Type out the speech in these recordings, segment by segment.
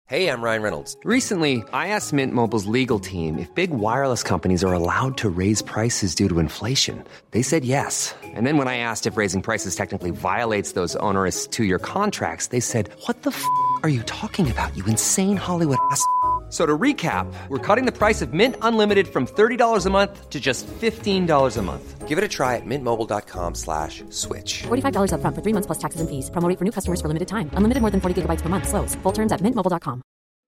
Hey, I'm Ryan Reynolds. Recently, I asked Mint Mobile's legal team if big wireless companies are allowed to raise prices due to inflation. They said yes. And then when I asked if raising prices technically violates those onerous two-year contracts, they said, "What the are you talking about, you insane Hollywood ass?" So to recap, we're cutting the price of Mint Unlimited from $30 a month to just $15 a month. Give it a try at mintmobile.com/switch. $45 up front for 3 months plus taxes and fees. Promo rate for new customers for limited time. Unlimited more than 40 gigabytes per month. Slows full terms at mintmobile.com.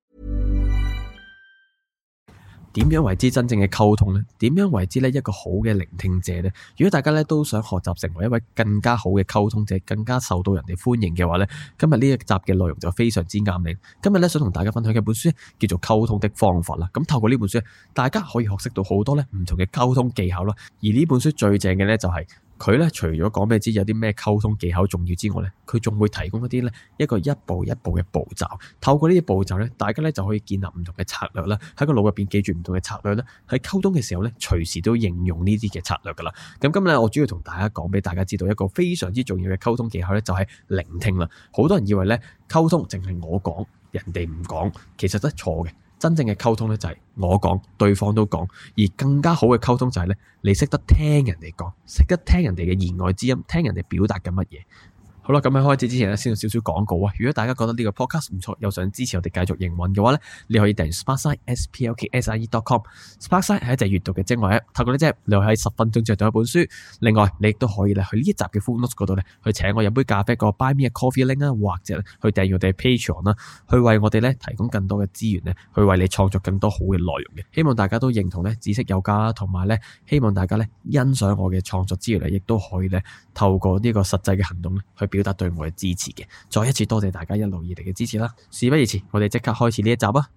點樣為之真正嘅溝通呢？點樣為之呢一個好嘅聆聽者呢？如果大家呢都想學習成為一位更加好嘅溝通者，更加受到人哋歡迎嘅話呢，今日呢一集嘅內容就非常之啱你。今日呢想同大家分享嘅本書叫做《溝通的方法》啦。咁透過呢本書，大家可以學識到好多呢唔同嘅溝通技巧啦。而呢本書最正嘅呢就係佢咧除咗講俾你知有啲咩溝通技巧重要之外咧，佢仲會提供一啲咧一個一步一步嘅步驟。透過呢啲步驟咧，大家咧就可以建立唔同嘅策略啦，喺個腦入邊記住唔同嘅策略咧，喺溝通嘅時候咧，隨時都應用呢啲嘅策略噶啦。咁今日我主要同大家講俾大家知道一個非常之重要嘅溝通技巧咧，就係聆聽啦。好多人以為咧溝通淨係我講，人哋唔講，其實都係錯嘅。真正嘅溝通咧就係我講，對方都講，而更加好嘅溝通就係咧，你識得聽人哋講，識得聽人哋嘅言外之音，聽人哋表達緊乜嘢。好啦，咁喺開始之前咧，先有少少廣告啊！如果大家覺得呢個 podcast 唔錯，又想支持我哋繼續營運嘅話咧，你可以訂閱 sparkside.com。Sparkside 係一隻閱讀嘅精華 app， 透過呢隻 app， 你可以喺10分鐘就讀一本書。另外，你亦都可以咧去呢一集嘅 full notes 嗰度咧，去請我飲杯咖啡個 Buy Me a Coffee link 啊，或者去訂閱我哋嘅 Patreon 啦，去為我哋咧提供更多嘅資源咧，去為你創作更多好嘅內容嘅。希望大家都認同咧知識有價啦，同埋咧希望大家咧欣賞我嘅創作之餘咧，亦都可以咧透過呢個實際嘅行動咧去表達對我嘅支持嘅。再一次多謝大家一路以嚟嘅支持啦！事不宜遲，我哋即刻開始呢一集啊！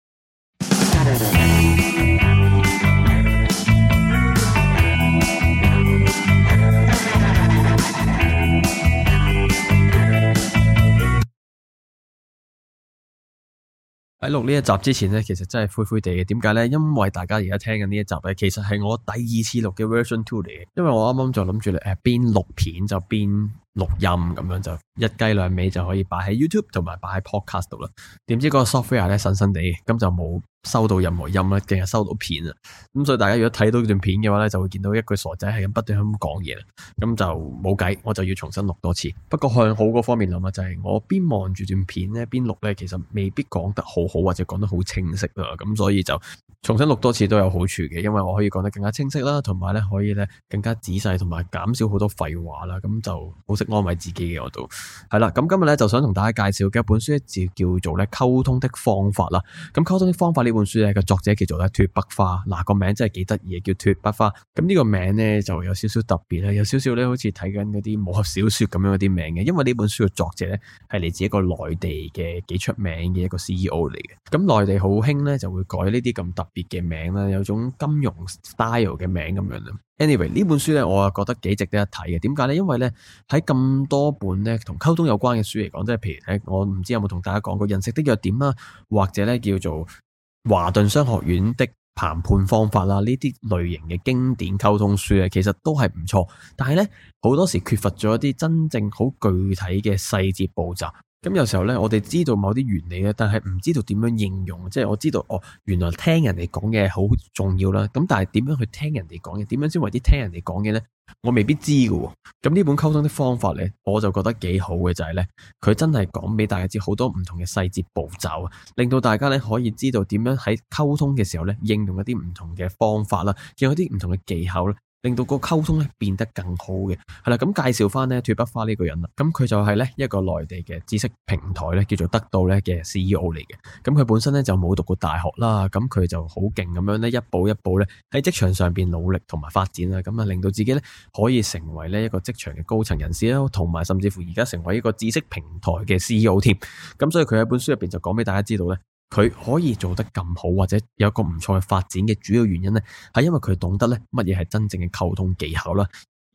喺錄呢一集之前呢，其實真係灰灰地嘅。點解呢？因為大家而家聽緊呢一集呢，其實係我第二次錄嘅 version 2嚟嘅。因為我啱啱就諗住邊錄片就邊錄音，咁樣就一雞兩味就可以擺喺 YouTube 同埋擺喺 Podcast 度啦。點知嗰個 software 咧新新地，咁就冇收到任何音啦，淨係收到片啊。咁所以大家如果睇到段片嘅話咧，就會見到一句傻仔係咁不斷咁講嘢啦。咁就冇計，我就要重新錄多次。不過向好嗰方面諗啊，就係我邊望住段片咧，邊錄咧，其實未必講得好好或者講得好清晰啊。咁所以就重新錄多次都有好處嘅，因為我可以講得更加清晰啦，同埋咧可以咧更加仔細，同埋減少好多廢話啦。咁就好識安慰自己嘅我都係啦。咁今日咧就想同大家介紹嘅一本書咧，就叫做咧溝通的方法啦。咁溝通的方法呢本書咧個作者叫做咧脫北花，嗱個名真係幾得意嘅，叫脫北花。咁呢個名咧就有少少特別啦，有少少咧好似睇緊嗰啲武俠小說咁樣嗰啲名嘅。因為呢本書嘅作者咧係嚟自一個內地嘅幾出名嘅一個 CEO 嚟嘅。咁內地好興咧就會改呢啲咁特別嘅名啦，有種金融 style 嘅名咁樣啦。Anyway 呢本書咧我覺得幾值得一睇嘅。點解咧？因為咧喺咁多本咧同溝通有關嘅書嚟講，即係譬如咧我唔知有冇同大家講過人性的弱點啦，或者咧叫做華頓商學院的談判方法啦，呢啲類型嘅經典溝通書咧，其實都係唔錯。但係咧好多時缺乏咗一啲真正好具體嘅細節步驟。咁有時候咧，我哋知道某啲原理咧，但係唔知道點樣應用。即係我知道原來聽人哋講嘢好重要啦。咁但係點樣去聽人哋講嘢？點樣先為之聽人哋講嘢咧？我未必知㗎喎。咁呢本溝通的方法咧，我就覺得幾好嘅就係咧，佢真係講俾大家知好多唔同嘅細節步驟啊，令到大家咧可以知道點樣喺溝通嘅時候咧，應用一啲唔同嘅方法啦，用一啲唔同嘅技巧啦。令到個溝通咧變得更好嘅。係啦，咁介紹翻咧脫北花呢個人啦，咁佢就係咧一個內地嘅知識平台咧叫做得到咧嘅 CEO 嚟嘅。咁佢本身咧就冇讀過大學啦，咁佢就好勁咁樣咧一步一步咧喺職場上邊努力同埋發展啦，咁啊令到自己咧可以成為咧一個職場嘅高層人士啦，同埋甚至乎而家成為一個知識平台嘅 CEO 添。咁所以佢喺本書入邊就講俾大家知道咧，佢可以做得咁好，或者有一個唔錯嘅發展嘅主要原因呢，係因為佢懂得咧乜嘢係真正嘅溝通技巧啦。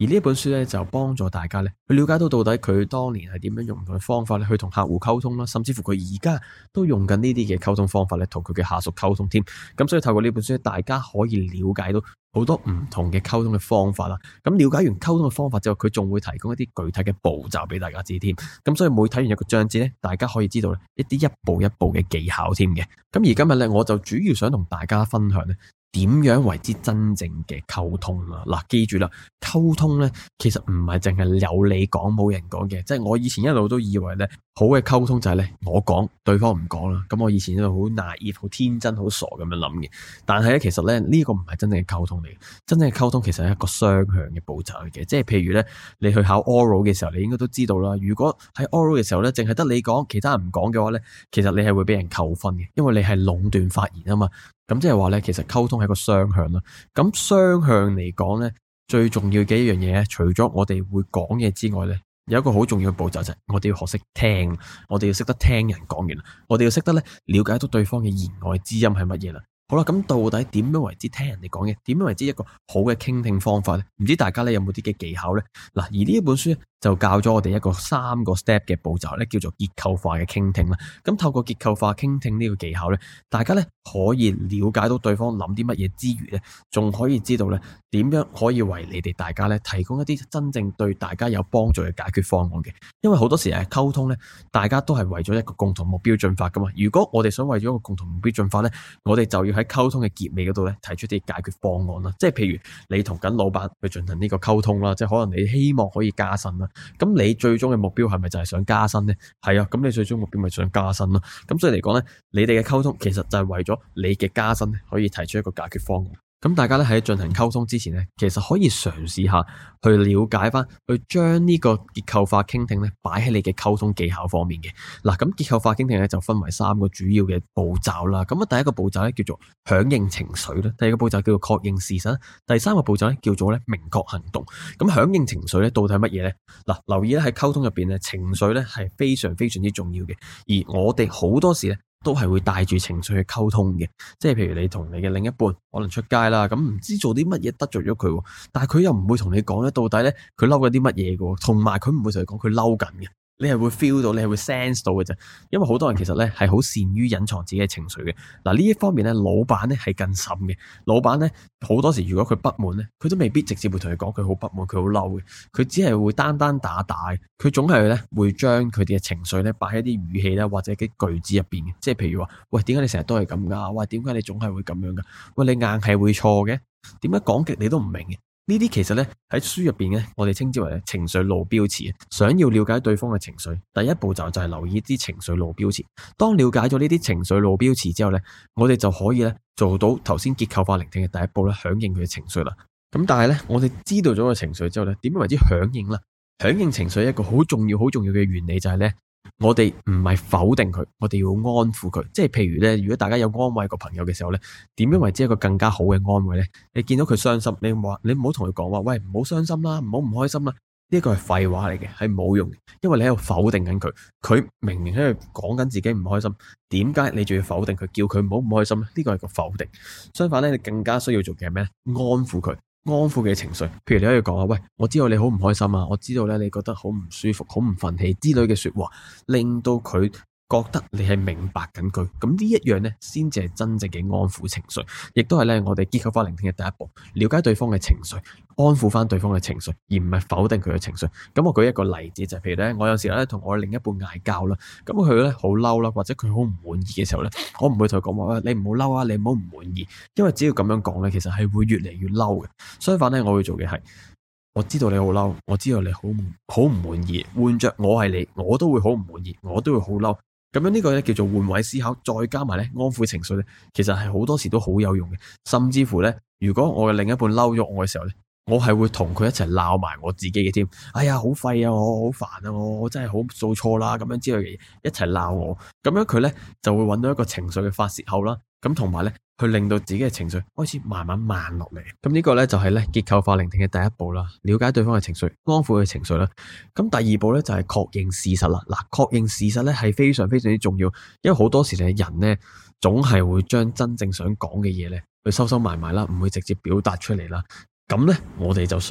而呢一本書咧就幫助大家咧去了解到底佢當年係點樣用唔同嘅方法咧去同客戶溝通啦，甚至乎佢而家都用緊呢啲嘅溝通方法咧同佢嘅下屬溝通添。咁所以透過呢本書，大家可以了解到好多唔同嘅溝通嘅方法啦。咁了解完溝通嘅方法之後，佢仲會提供一啲具體嘅步驟俾大家知添。咁所以每睇完一個章節咧，大家可以知道一啲一步一步嘅技巧添嘅。咁而今日咧，我就主要想同大家分享咧，點樣為之真正嘅溝通啦？嗱，記住啦，溝通咧其實唔係淨係有你講冇人講嘅，即係我以前一路都以為咧，好嘅溝通就係咧我講對方唔講啦。咁我以前都好 naive、好天真、好傻咁樣諗嘅。但係咧，其實咧呢個唔係真正嘅溝通嚟嘅。真正嘅溝通其實係一個雙向嘅步驟嚟嘅。即係譬如咧，你去考 oral 嘅時候，你應該都知道啦。如果喺 oral 嘅時候咧，淨係得你講，其他人唔講嘅話咧，其實你係會俾人扣分嘅，因為你係壟斷發言啊嘛。咁即係話咧，其實溝通係一個雙向啦。咁雙向嚟講咧，最重要嘅一樣嘢咧，除咗我哋會講嘢之外咧，有一個好重要嘅步驟就係我哋要學識聽，我哋要識得聽人講完，我哋要識得咧了解到對方嘅言外之音係乜嘢啦。好啦，咁到底點樣為之聽人哋講嘢？點樣為之一個好嘅傾聽方法咧？唔知大家咧有冇啲嘅技巧咧？嗱，而呢一本書咧就教咗我哋一個3個 step 嘅步驟咧，叫做結構化嘅傾聽啦。咁透過結構化傾聽呢個技巧咧，大家咧可以了解到對方諗啲乜嘢之餘咧，仲可以知道咧點樣可以為你哋大家咧提供一啲真正對大家有幫助嘅解決方案嘅。因為好多時溝通咧，大家都係為咗一個共同目標進發噶嘛。如果我哋想為咗一個共同目標進發咧，我哋就要喺溝通嘅結尾嗰度咧提出啲解決方案啦。即係譬如你同緊老闆去進行呢個溝通啦，即係可能你希望可以加薪啦。咁你最終嘅目標係咪就係想加薪呢？係啊，咁你最終目標咪想加薪咯。咁所以嚟講呢，你哋嘅溝通其實就係為咗你嘅加薪可以提出一個解決方案。咁大家咧喺進行溝通之前呢，其實可以嘗試下去了解翻，去將呢個結構化傾聽咧擺喺你嘅溝通技巧方面嘅。嗱，咁結構化傾聽咧就分為3個主要嘅步驟啦。咁第一個步驟咧叫做響應情緒啦，第二個步驟叫做確認事實，第3個步驟咧叫做明確行動。咁響應情緒咧到底係乜嘢咧？嗱，留意咧喺溝通入邊咧，情緒咧係非常非常之重要嘅，而我哋好多時咧都係會帶住情緒去溝通嘅。即係譬如你同你嘅另一半可能出街啦，咁唔知做啲乜嘢得罪咗佢，但係佢又唔會同你講咧，到底咧佢嬲緊啲乜嘢嘅，同埋佢唔會同你講佢嬲緊嘅。你係會 feel 到，你係會 sense 到嘅啫。因為好多人其實咧係好善於隱藏自己嘅情緒嘅。嗱，呢一方面咧，老闆咧係更甚嘅。老闆咧好多時如果佢不滿咧，佢都未必直接會同你講佢好不滿，佢好嬲嘅。佢只係會單單打打，佢總係咧會將佢哋嘅情緒咧擺喺啲語氣啦或者啲句子入邊嘅。即係譬如話，喂，點解你成日都係咁噶？喂，點解你總係會咁樣噶？喂，你硬係會錯嘅？點解講極你都唔明嘅？呢啲其實咧喺書入邊咧，我哋稱之為情緒路標詞。想要了解對方嘅情緒，第一步驟就係留意啲情緒路標詞。當了解咗呢啲情緒路標詞之後咧，我哋就可以咧做到頭先結構化聆聽嘅第一步咧，響應佢嘅情緒啦。咁但係咧，我哋知道咗個情緒之後咧，點樣為之響應啦？響應情緒一個好重要嘅原理就係咧，我哋唔係否定佢，我哋要安撫佢。即係譬如咧，如果大家有安慰個朋友嘅時候咧，點樣為之一個更加好嘅安慰咧？你見到佢傷心，你唔好同佢講話，喂，唔好傷心啦，唔好唔開心啦。呢個係廢話嚟嘅，係冇用嘅，因為你喺度否定緊佢。佢明明喺度講緊自己唔開心，點解你仲要否定佢，叫佢唔好唔開心咧？呢個係個否定。相反咧，你更加需要做嘅係咩？安撫佢。安撫嘅情緒，譬如你可以講啊，喂，我知道你好唔開心啊，我知道咧你覺得好唔舒服、好唔忿氣之類嘅說話，令到佢覺得你係明白緊佢。咁呢一樣咧，先至係真正嘅安撫情緒，亦都係咧我哋結構化聆聽嘅第一步，了解對方嘅情緒，安撫翻對方嘅情緒，而唔係否定佢嘅情緒。咁我舉一個例子就係，譬如咧，我有時咧同我另一半嗌交啦，咁佢咧好嬲啦，或者佢好唔滿意嘅時候咧，我唔會同佢講話，你唔好嬲啊，你唔好唔滿意，因為只要咁樣講咧，其實係會越嚟越嬲嘅。相反咧，我會做嘅係，我知道你好嬲，我知道你好唔滿意，換着我係你，我都會好唔滿意，我都會好嬲。咁樣呢個咧叫做換位思考，再加埋咧安撫情緒咧，其實係好多時都好有用嘅。甚至乎咧，如果我嘅另一半嬲咗我嘅時候咧，我係會同佢一齊鬧埋我自己嘅添。哎呀，好廢啊，我好煩啊，我真係好做錯啦，咁樣之類嘅嘢一齊鬧我。咁樣佢咧就會揾到一個情緒嘅發洩口啦。咁同埋咧，去令到自己嘅情緒開始慢慢慢落嚟。咁呢個咧就係咧結構化聆聽嘅第一步啦，了解對方嘅情緒，安撫佢嘅情緒啦。咁第二步咧就係確認事實啦。嗱，確認事實咧係非常非常之重要，因為好多時咧人咧總係會將真正想講嘅嘢咧去收收埋埋啦，唔會直接表達出嚟啦。咁咧我哋就需要咧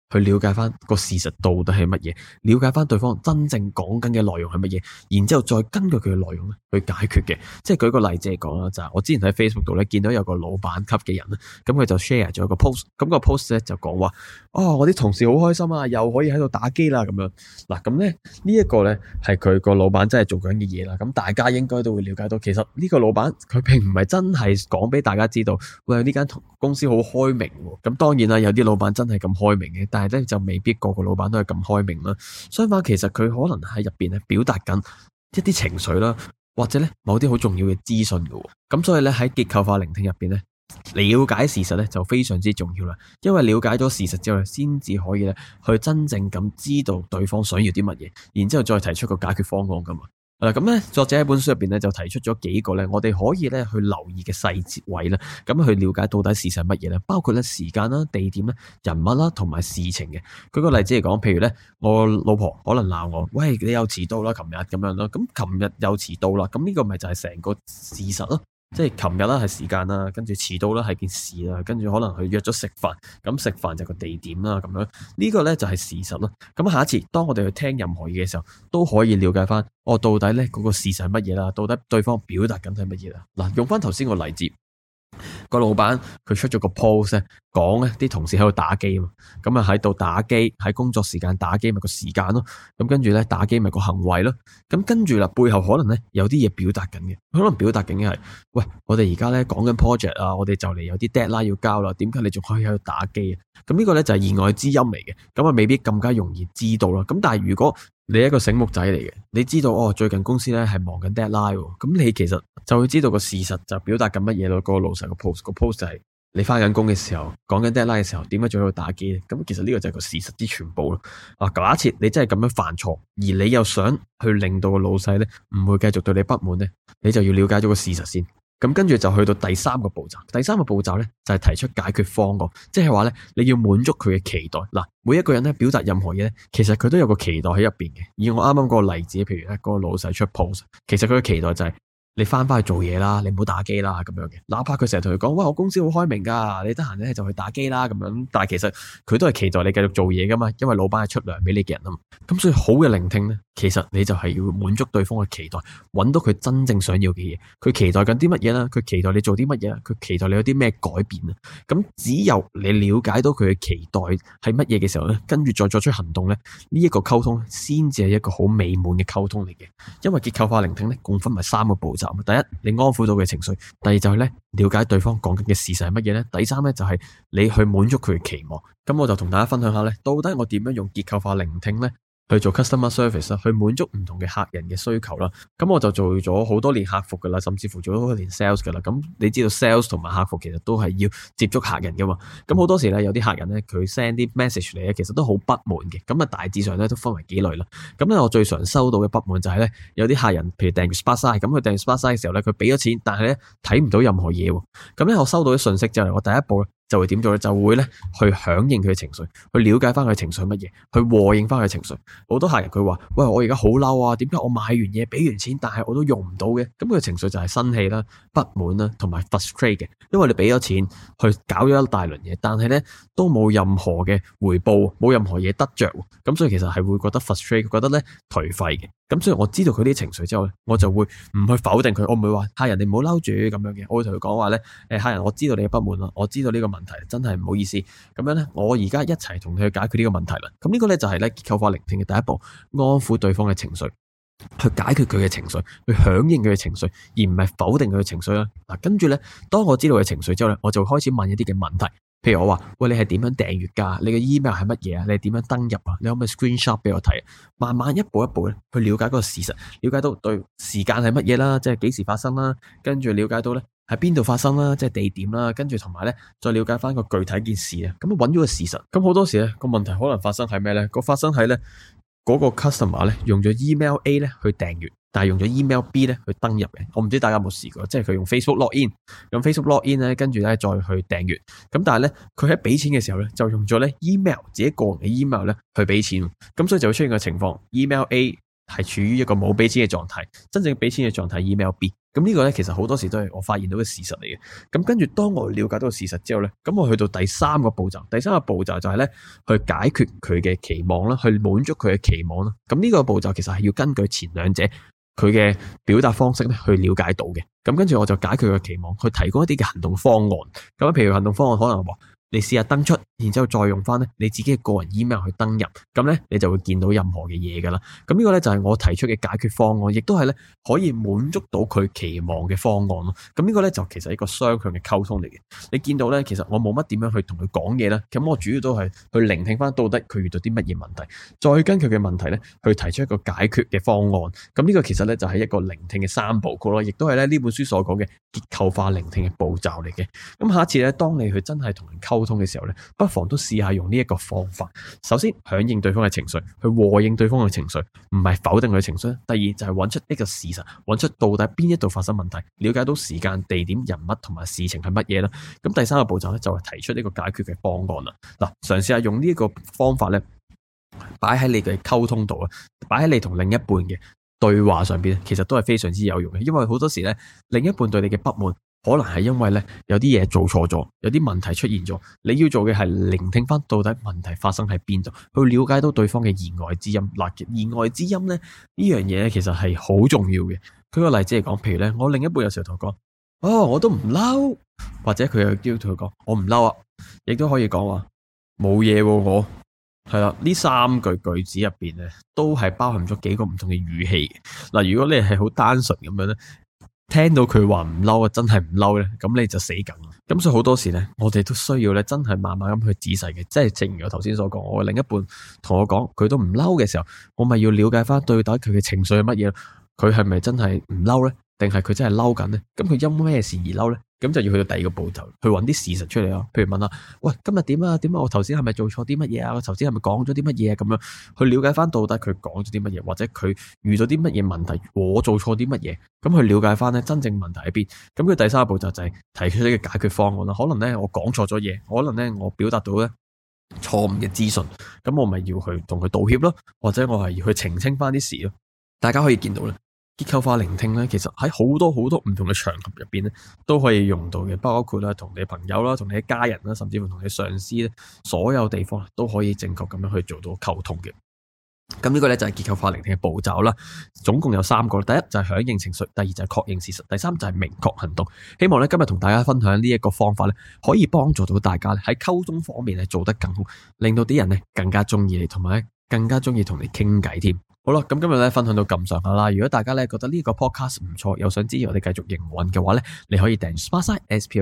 去了解翻個事實到底係乜嘢，了解翻對方真正講緊嘅內容係乜嘢，然之後再根據佢嘅內容咧去解決嘅。即係舉個例子嚟講啦，就係我之前喺 Facebook 度咧見到有個老闆級嘅人咧，咁佢就 share 咗一個 post，咁個 post 咧就講話，我啲同事好開心啊，又可以喺度打機啦咁樣。嗱，咁咧呢一個咧係佢個老闆真係做緊嘅嘢啦。咁大家應該都會了解到，其實呢個老闆佢並唔係真係講俾大家知道，喂，呢間公司好開明喎。咁當然啦，有啲老闆真係咁開明嘅，但係咧就未必個個老闆都係咁開明啦。相反，其實佢可能喺入邊咧表達緊一啲情緒啦，或者咧某啲好重要嘅資訊嘅。咁所以咧喺結構化聆聽入邊咧，了解事實咧就非常之重要啦。因為了解咗事實之後，先至可以咧去真正咁知道對方想要啲乜嘢，然之後再提出個解決方案噶嘛。咁咧，作者喺本書入邊咧就提出咗幾個咧，我哋可以咧去留意嘅細節位啦，咁去了解到底事實係乜嘢咧？包括咧時間啦、地點啦、人物啦同埋事情嘅。舉個例子嚟講，譬如咧我老婆可能鬧我，喂，你又遲到啦，琴日咁樣咯。咁琴日又遲到啦，咁呢個咪就係成個事實咯。即係琴日啦係時間啦，跟住遲到啦係件事啦，跟住可能佢約咗食飯，咁食飯就個地點啦，咁樣呢個咧就係事實咯。咁下一次當我哋去聽任何嘢嘅時候，都可以了解翻到底咧嗰個事實係乜嘢啦，到底對方表達緊係乜嘢啦。嗱，用翻頭先個例子。個老闆佢出咗個 post 咧，講咧啲同事喺度打機嘛，咁啊喺度打機，喺工作時間打機咪個時間咯，咁跟住咧打機咪個行為咯，咁跟住啦背後可能咧有啲嘢表達緊嘅，可能表達緊嘅係，喂，我哋而家咧講緊 project 啊，我哋就嚟有啲 deadline 要交啦，點解你仲可以喺度打機啊？咁呢個咧就係意外之音嚟嘅，咁啊未必更加容易知道啦。咁但係如果你係一個醒目仔嚟嘅，你知道最近公司咧係忙緊 deadline 喎，咁你其實就會知道個事實就表達緊乜嘢咯。個老細個 post 就係你翻緊工嘅時候，講緊 deadline 嘅時候，點解仲喺度打機咧？咁其實呢個就係個事實之全部咯。假設你真係咁樣犯錯，而你又想去令到個老細咧唔會繼續對你不滿咧，你就要了解咗個事實先。咁跟住就去到第三個步驟，第三個步驟咧就係提出解決方案，即係話咧你要滿足佢嘅期待。嗱，每一個人咧表達任何嘢咧，其實佢都有個期待喺入邊嘅。以我啱啱嗰個例子，譬如咧嗰個老細出 post，其實佢嘅期待就係你翻去做嘢啦，你唔好打機啦咁樣嘅。哪怕佢成日同佢講，喂，我公司好開明噶，你得閒咧就去打機啦咁樣。但係其實佢都係期待你繼續做嘢噶嘛，因為老闆係出糧俾你嘅人啊嘛。咁所以好嘅聆聽咧，其實你就係要滿足對方嘅期待，揾到佢真正想要嘅嘢。佢期待緊啲乜嘢啦？佢期待你做啲乜嘢啦？佢期待你有啲咩改變啊？咁只有你了解到佢嘅期待係乜嘢嘅時候咧，跟住再作出行動咧，呢一個溝通先至係一個好美滿嘅溝通嚟嘅。因為結構化聆聽咧，共分為三個步驟。第一，你安撫到佢嘅情緒；第二就係咧，了解對方講緊嘅事實係乜嘢咧；第三咧就係你去滿足佢嘅期望。咁我就同大家分享下咧，到底我點樣用結構化聆聽咧去做 customer service 啦，去滿足唔同嘅客人嘅需求啦。咁我就做咗好多年客服噶啦，甚至乎做咗好多年 sales 噶啦。咁你知道 sales 同埋客服其實都係要接觸客人噶嘛。咁好多時咧，有啲客人咧，佢 send 啲 message 嚟咧，其實都好不滿嘅。咁啊，大致上咧都分為幾類啦。咁咧，我最常收到嘅不滿就係咧，有啲客人譬如訂閱 Sparkside，咁佢訂閱 Sparkside 嘅時候咧，佢俾咗錢，但係咧睇唔到任何嘢喎。咁咧，我收到啲信息之後，我第一步咧就會點做咧？就會咧去響應佢嘅情緒，去了解翻佢嘅情緒乜嘢，去和應翻佢嘅情緒。好多客人佢話：喂，我而家好嬲啊！點解我買完嘢俾完錢，但係我都用唔到嘅？咁佢嘅情緒就係生氣啦、不滿啦，同埋 frustrate 嘅。因為你俾咗錢去搞咗一大輪嘢，但係咧都冇任何嘅回報，冇任何嘢得着。咁所以其實係會覺得 frustrate， 覺得咧頹廢嘅。咁所以我知道佢啲情緒之後咧，我就會唔去否定佢，我唔會話客人你唔好嬲住咁樣嘅，我會同佢講話咧，客人我知道你嘅不滿啦，我知道呢個問題真係唔好意思，咁樣咧我而家一齊同你去解決呢個問題啦。咁呢個咧就係咧結構化聆聽嘅第一步，安撫對方嘅情緒，去解決佢嘅情緒，去響應佢嘅情緒，而唔係否定佢嘅情緒啦。嗱，跟住咧，當我知道佢嘅情緒之後咧，我就開始問一啲嘅問題。譬如我話，喂，你係點樣訂閱噶？你嘅 email 係乜嘢啊？你係點樣登入啊？你可唔可以 screenshot 俾我睇？慢慢一步一步咧去了解嗰個事實，了解到對時間係乜嘢啦，即係幾時發生啦，跟住了解到咧喺邊度發生啦，即係地點啦，跟住同埋咧再了解翻個具體件事啊。咁揾咗個事實，咁好多時咧個問題可能發生喺咩咧？發生喺咧嗰個 customer 咧用咗 email A 咧去訂閱，但係用咗 email B 咧去登入嘅。我唔知大家有冇試過，即係佢用 Facebook login， 用 Facebook login 咧，跟住咧再去訂閱。咁但係咧佢喺俾錢嘅時候咧，就用咗咧 email 自己個人嘅 email 咧去俾錢。咁所以就會出現個情況 ，email A 係處於一個冇俾錢嘅狀態，真正俾錢嘅狀態 email B。 咁呢個咧其實好多時都係我發現到嘅事實嚟嘅。咁跟住當我了解到事實之後咧，咁我去到第三個步驟，第三個步驟就係咧去解決佢嘅期望啦，去滿足佢嘅期望啦。咁呢個步驟其實係要根據前兩者佢嘅表達方式咧去了解到嘅。咁跟住我就解決佢嘅期望，去提供一啲嘅行動方案。咁譬如行動方案可能話，你試下登出，然之後再用翻咧你自己嘅個人 email 去登入，咁咧你就會見到任何嘅嘢噶啦。咁呢個咧就係我提出嘅解決方案，亦都係咧可以滿足到佢期望嘅方案咯。咁呢個咧就其實係一個雙向嘅溝通嚟嘅。你見到咧，其實我冇乜點樣去同佢講嘢啦。咁我主要都係去聆聽翻到底佢遇到啲乜嘢問題，再跟佢嘅問題咧去提出一個解決嘅方案。咁呢個其實咧就係一個聆聽嘅三部曲咯，亦都係咧呢本書所講嘅結構化聆聽嘅步驟嚟嘅。咁下一次咧，當你去真係同人溝通嘅時候咧，不妨都試下用呢一個方法。首先響應對方嘅情緒，去和應對方嘅情緒，唔係否定佢嘅情緒。第二就係揾出一個事實，揾出到底邊一度發生問題，了解到時間、地點、人物同埋事情係乜嘢啦。咁第三個步驟咧就係提出呢個解決嘅方案啦。嗱，嘗試下用呢一個方法咧，擺喺你嘅溝通度啊，擺喺你同另一半嘅對話上邊，其實都係非常之有用嘅。因為好多時咧，另一半對你嘅不滿，可能係因為咧有啲嘢做錯咗，有啲問題出現咗，你要做嘅係聆聽翻到底問題發生喺邊度，去了解到對方嘅言外之音。嗱，言外之音咧呢樣嘢咧其實係好重要嘅。舉個例子嚟講，譬如咧我另一半有時候同我講，哦，我都唔嬲，或者佢又要同佢講，我唔嬲啊，亦都可以講話冇嘢喎，我係啦。呢三句句子入邊咧都係包含咗幾個唔同嘅語氣嘅。嗱，如果你係好單純咁樣咧，聽到佢話唔嬲啊，真係唔嬲咧，咁你就死梗。咁所以好多時咧，我哋都需要咧，真係慢慢咁去仔細嘅。即係正如我頭先所講，我另一半同我講佢都唔嬲嘅時候，我咪要了解翻對底佢嘅情緒係乜嘢，佢係咪真係唔嬲咧，定係佢真係嬲緊咧？咁佢因咩事而嬲咧？咁就要去到第二個步驟，去揾啲事實出嚟咯。譬如問下，喂，今日點啊？點啊？我頭先係咪做錯啲乜嘢啊？我頭先係咪講咗啲乜嘢啊？咁樣去了解翻到底佢講咗啲乜嘢，或者佢遇到啲乜嘢問題，我做錯啲乜嘢，咁去了解翻咧真正問題喺邊。咁佢第三個步驟就係提出呢個解決方案啦。可能咧我講錯咗嘢，可能咧我表達到咧錯誤嘅資訊，咁我咪要去同佢道歉咯，或者我係要去澄清翻啲事咯。大家可以見到咧，結構化聆聽咧，其實喺好多好多唔同嘅場合入邊咧，都可以用到嘅，包括啦同你朋友啦、同你嘅家人啦，甚至乎同你上司咧，所有地方都可以正確咁樣去做到溝通嘅。咁呢個咧就係結構化聆聽嘅步驟啦，總共有3個。第一就係響應情緒，第二就係確認事實，第三就係明確行動。希望咧今日同大家分享呢一個方法咧，可以幫助到大家咧喺溝通方面咧做得更好，令到啲人咧更加中意你，同埋咧更加中意同你傾偈添。好啦，咁今日咧分享到咁上下啦。如果大家咧覺得呢個 podcast 唔錯，又想支持我哋繼續營運嘅話咧，你可以訂閱 Sparkside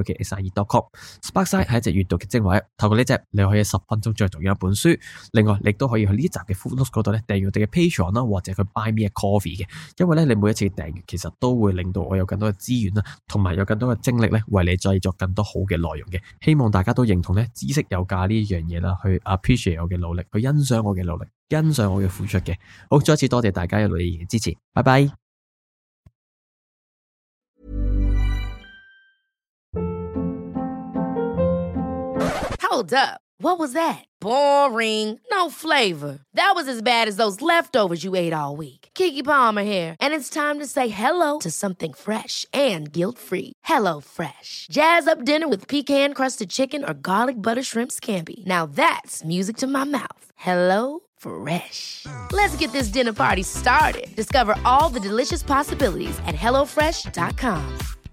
SPOKSIE.com。Sparkside 係一隻閱讀嘅精華，透過呢隻你可以10分鐘再讀完一本書。另外，你都可以去呢集嘅 Food Notes 嗰度咧訂閱我哋嘅 Patreon 啦，或者去 Buy Me a Coffee 嘅。因為咧你每一次訂閱，其實都會令到我有更多嘅資源啦，同埋有更多嘅精力咧，為你製作更多好嘅內容嘅。希望大家都認同咧知識有價呢樣嘢啦，去 appreciate 我嘅努力，去欣賞我嘅努力，欣賞我嘅付出嘅。好，再一次多謝大家一路以嚟嘅支持，拜拜。 Hold up. What was that? Boring. No flavor. That was as bad as those leftovers you ate all week. Keke Palmer here, and it's time to say hello to something fresh and guilt-free. Hello Fresh. Jazz up dinner with pecan-crusted chicken or garlic butter shrimp scampi. Now that's music to my mouth. Hello Fresh. Let's get this dinner party started. Discover all the delicious possibilities at HelloFresh.com.